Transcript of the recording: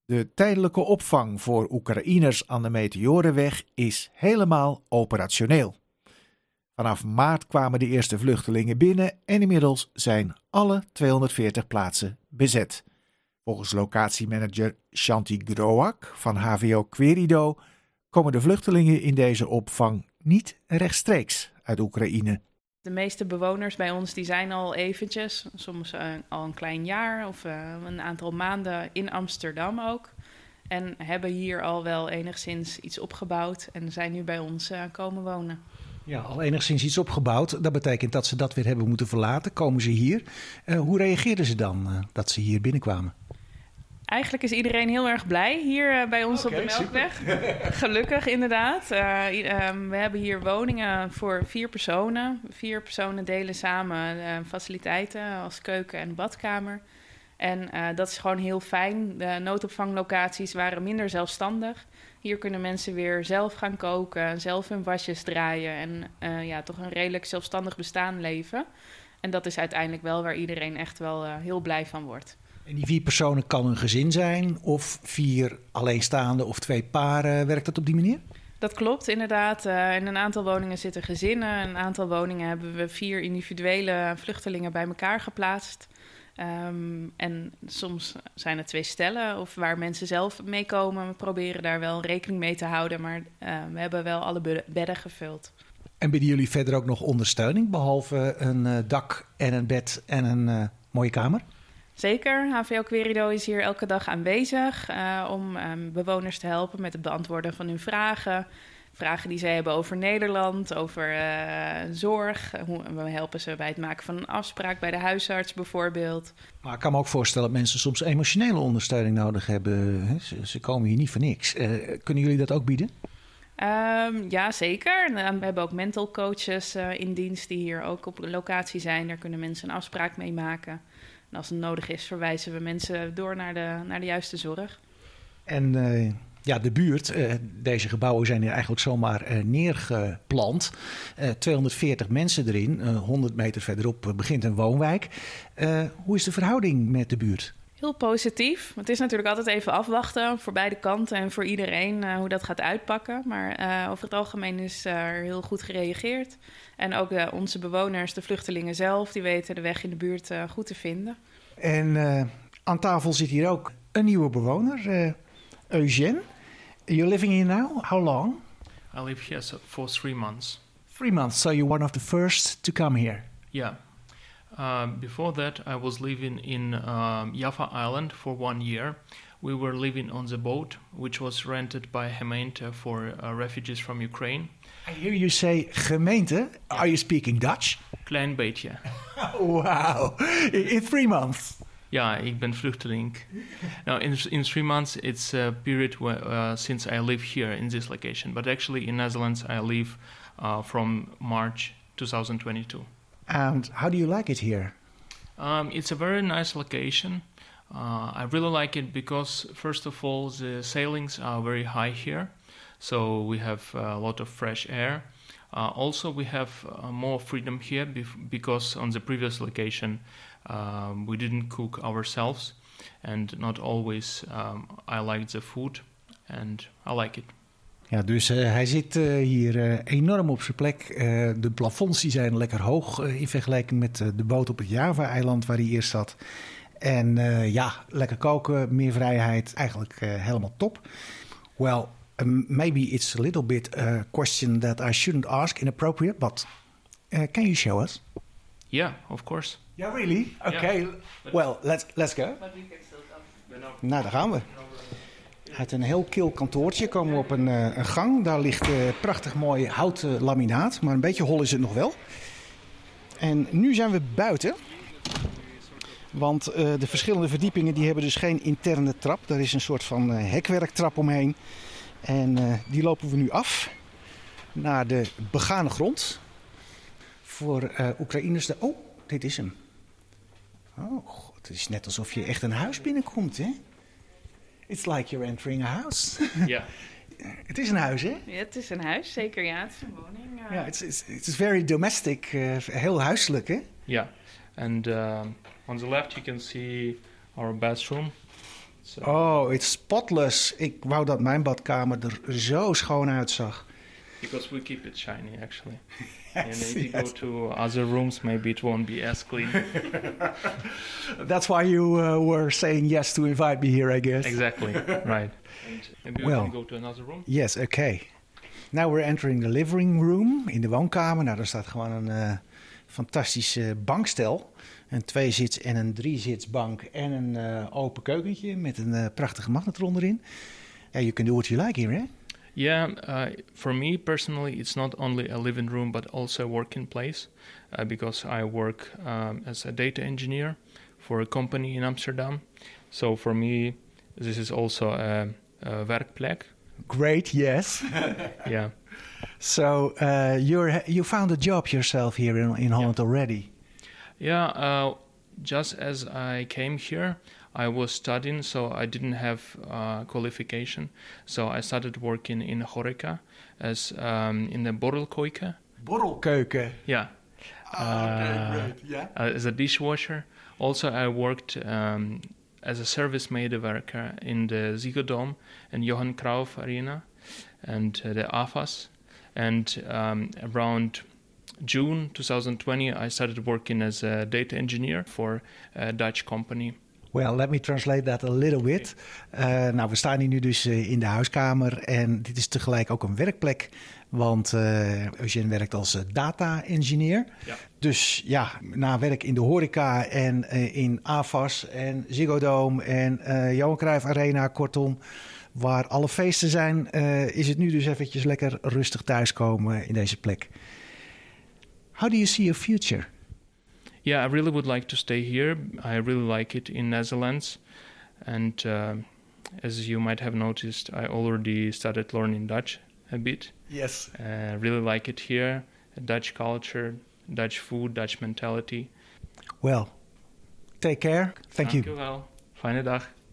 De tijdelijke opvang voor Oekraïners aan de Meteorenweg is helemaal operationeel. Vanaf maart kwamen de eerste vluchtelingen binnen en inmiddels zijn alle 240 plaatsen bezet. Volgens locatiemanager Shanti Groak van HVO Querido komen de vluchtelingen in deze opvang niet rechtstreeks uit Oekraïne. De meeste bewoners bij ons die zijn al eventjes, soms al een klein jaar of een aantal maanden in Amsterdam ook. En hebben hier al wel enigszins iets opgebouwd en zijn nu bij ons komen wonen. Ja, al enigszins iets opgebouwd. Dat betekent dat ze dat weer hebben moeten verlaten. Komen ze hier. Hoe reageerden ze dan dat ze hier binnenkwamen? Eigenlijk is iedereen heel erg blij hier bij ons op de Melkweg. Super. Gelukkig inderdaad. We hebben hier woningen voor 4 personen. 4 personen delen samen faciliteiten als keuken en badkamer. En dat is gewoon heel fijn. De noodopvanglocaties waren minder zelfstandig. Hier kunnen mensen weer zelf gaan koken, zelf hun wasjes draaien en toch een redelijk zelfstandig bestaan leven. En dat is uiteindelijk wel waar iedereen echt wel heel blij van wordt. En die 4 personen kan een gezin zijn of 4 alleenstaande of 2 paren. Werkt dat op die manier? Dat klopt inderdaad. In een aantal woningen zitten gezinnen. In een aantal woningen hebben we 4 individuele vluchtelingen bij elkaar geplaatst. En soms zijn het 2 stellen of waar mensen zelf meekomen. We proberen daar wel rekening mee te houden, maar we hebben wel alle bedden gevuld. En bieden jullie verder ook nog ondersteuning, behalve een dak en een bed en een mooie kamer? Zeker. HVO Querido is hier elke dag aanwezig om bewoners te helpen met het beantwoorden van hun vragen. Vragen die zij hebben over Nederland, over zorg. We helpen ze bij het maken van een afspraak bij de huisarts bijvoorbeeld. Maar ik kan me ook voorstellen dat mensen soms emotionele ondersteuning nodig hebben. Ze komen hier niet voor niks. Kunnen jullie dat ook bieden? Ja, zeker. We hebben ook mental coaches in dienst die hier ook op locatie zijn. Daar kunnen mensen een afspraak mee maken. En als het nodig is, verwijzen we mensen door naar de juiste zorg. En de buurt, deze gebouwen zijn hier eigenlijk zomaar neergeplant. 240 mensen erin, 100 meter verderop begint een woonwijk. Hoe is de verhouding met de buurt? Heel positief. Het is natuurlijk altijd even afwachten voor beide kanten en voor iedereen hoe dat gaat uitpakken. Maar over het algemeen is er heel goed gereageerd. En ook onze bewoners, de vluchtelingen zelf, die weten de weg in de buurt goed te vinden. En aan tafel zit hier ook een nieuwe bewoner, Eugène. You're living here now? How long? I live here for 3 months. 3 months, so you're one of the first to come here? Yeah. Before that, I was living in Java Island for 1 year. We were living on the boat, which was rented by Gemeente for refugees from Ukraine. I hear you say gemeente. Are you speaking Dutch? Klein beetje. Wow. In 3 months? Ja, ik ben vluchteling. Now, in 3 months, it's a period since I live here in this location. But actually, in Netherlands, I live from March 2022. And how do you like it here? It's a very nice location. I really like it because, first of all, the sailings are very high here. So we have a lot of fresh air. Also, we have more freedom here because on the previous location, we didn't cook ourselves. And not always I liked the food and I like it. Ja, dus hij zit hier enorm op zijn plek. De plafonds die zijn lekker hoog in vergelijking met de boot op het Java-eiland waar hij eerst zat. En lekker koken, meer vrijheid, eigenlijk helemaal top. Well, maybe it's a little bit a question that I shouldn't ask, inappropriate, but can you show us? Yeah, of course. Yeah, really? Okay, yeah. Well, let's go. Nou, daar gaan we. Uit een heel kil kantoortje komen we op een gang. Daar ligt prachtig mooi houten laminaat, maar een beetje hol is het nog wel. En nu zijn we buiten. Want de verschillende verdiepingen die hebben dus geen interne trap. Daar is een soort van hekwerktrap omheen. En die lopen we nu af naar de begane grond. Voor Oekraïners. Oh, dit is hem. Oh, God, het is net alsof je echt een huis binnenkomt, hè? It's like you're entering a house. Ja. Het is een huis, hè? Ja, het is een huis, zeker. Ja, het is een woning. Ja, it's very domestic. Heel huiselijk, hè? Ja. And on the left you can see our bathroom. So. Oh, it's spotless. Ik wou dat mijn badkamer er zo schoon uitzag. Because we keep it shiny, actually. And if you go to other rooms, maybe it won't be as clean. That's why you were saying yes to invite me here, I guess. Exactly, right. And maybe we can go to another room? Yes, okay. Now we're entering the living room, in de woonkamer. Nou, daar staat gewoon een fantastische bankstel. Een 2-zits en een 3-zitsbank en een open keukentje met een prachtige magnetron erin. Yeah, you can do what you like here, eh? Yeah, for me personally, it's not only a living room, but also a working place, because I work as a data engineer for a company in Amsterdam. So for me, this is also a werkplek. Great, yes. Yeah. So you found a job yourself here in Holland already? Yeah, just as I came here, I was studying, so I didn't have qualification. So I started working in horeca as in the borrelkeuken. Borrelkeuken? Yeah. Great. Yeah. As a dishwasher. Also, I worked as a service medewerker in the Ziggo Dome and Johan Cruyff Arena and the AFAS. And around June 2020, I started working as a data engineer for a Dutch company. Well, let me translate that a little bit. Nou, we staan hier nu dus in de huiskamer en dit is tegelijk ook een werkplek. Want Eugène werkt als data-engineer. Ja. Dus ja, na werk in de horeca en in AFAS en Ziggo Dome en Johan Cruijff Arena, kortom, waar alle feesten zijn, is het nu dus eventjes lekker rustig thuiskomen in deze plek. How do you see your future? Yeah, I really would like to stay here. I really like it in Netherlands. And as you might have noticed, I already started learning Dutch a bit. Yes. Really like it here. Dutch culture, Dutch food, Dutch mentality. Well, take care. Thank you. Dank u wel. Fijne dag.